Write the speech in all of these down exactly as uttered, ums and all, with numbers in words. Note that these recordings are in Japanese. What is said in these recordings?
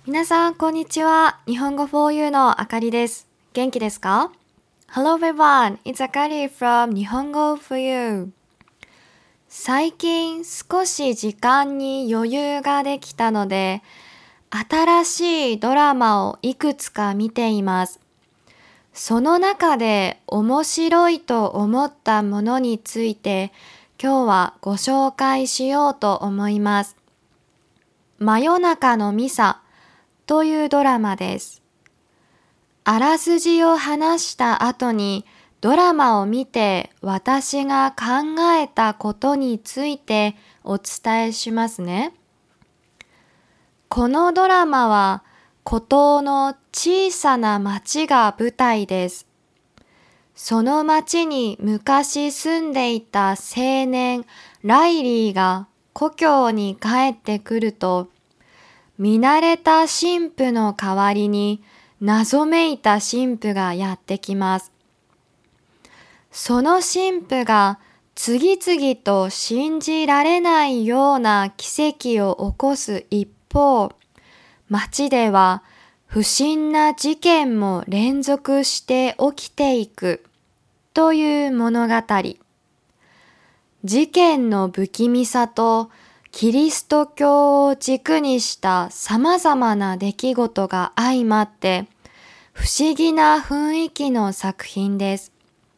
皆さん、こんにちは。日本語 フォーユー のあかりです。元気ですか？ Hello everyone, it's Akari from 日本語 フォーユー。最近少し時間に余裕ができたので、新しいドラマをいくつか見ています。その中で面白いと思ったものについて、今日はご紹介しようと思います。真夜中のミサというドラマです。あらすじを話した後にドラマを見て私が考えたことについてお伝えしますね。このドラマは孤島の小さな町が舞台です。その町に昔住んでいた青年ライリーが故郷に帰ってくると、見慣れた神父の代わりに謎めいた神父がやってきます。その神父が次々と信じられないような奇跡を起こす一方、町では不審な事件も連続して起きていくという物語。事件の不気味さとキリスト教を軸にした様々な出来事が相まって不思議な雰囲気の作品です。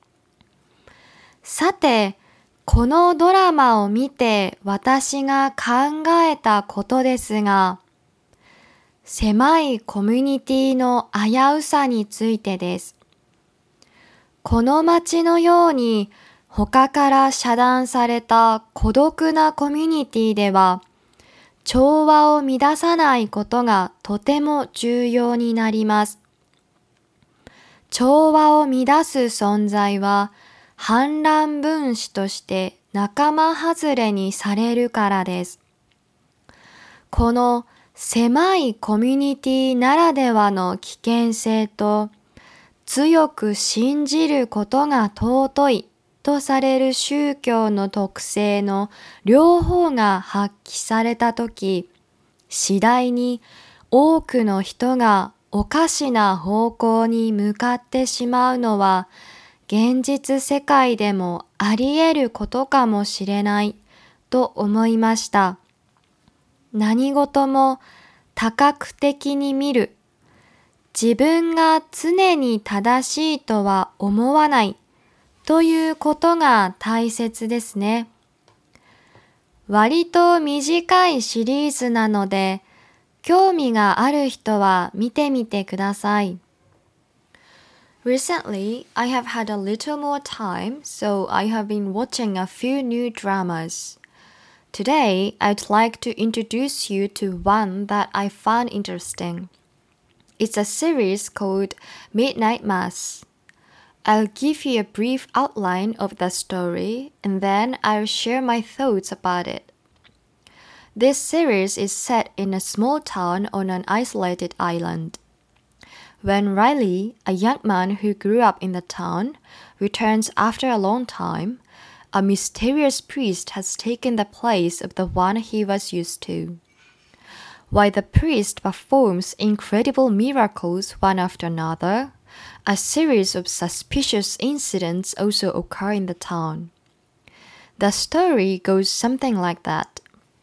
さて、このドラマを見て私が考えたことですが、狭いコミュニティの危うさについてです。この街のように他から遮断された孤独なコミュニティでは、調和を乱さないことがとても重要になります。調和を乱す存在は、反乱分子として仲間外れにされるからです。この狭いコミュニティならではの危険性と、強く信じることが尊いとされる宗教の特性の両方が発揮されたとき、次第に多くの人がおかしな方向に向かってしまうのは、現実世界でもあり得ることかもしれないと思いました。何事も多角的に見る。自分が常に正しいとは思わないということが大切ですね。割と短いシリーズなので、興味がある人は見てみてください。Recently, I have had a little more time, so I have been watching a few new dramas. Today, I'd like to introduce you to one that I found interesting. It's a series called Midnight Mass.I'll give you a brief outline of the story, and then I'll share my thoughts about it. This series is set in a small town on an isolated island. When Riley, a young man who grew up in the town, returns after a long time, a mysterious priest has taken the place of the one he was used to. While the priest performs incredible miracles one after another,A series of suspicious incidents also occur in the town. The story goes something like that.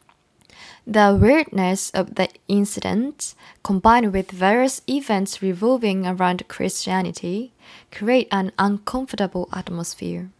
The weirdness of the incidents, combined with various events revolving around Christianity, create an uncomfortable atmosphere.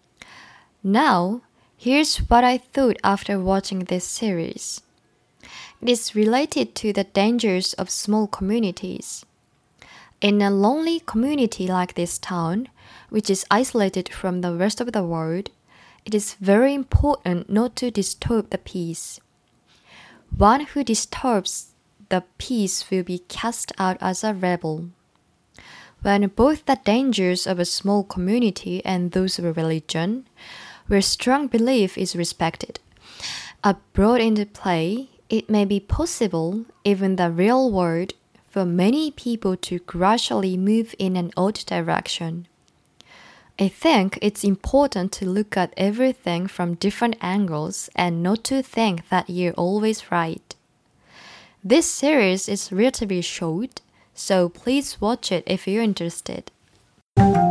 Now, here's what I thought after watching this series. It is related to the dangers of small communities.In a lonely community like this town, which is isolated from the rest of the world, it is very important not to disturb the peace. One who disturbs the peace will be cast out as a rebel. When both the dangers of a small community and those of a religion, where strong belief is respected, are brought into play, it may be possible, even the real world,for many people to gradually move in an odd direction. I think it's important to look at everything from different angles and not to think that you're always right. This series is relatively short, so please watch it if you're interested.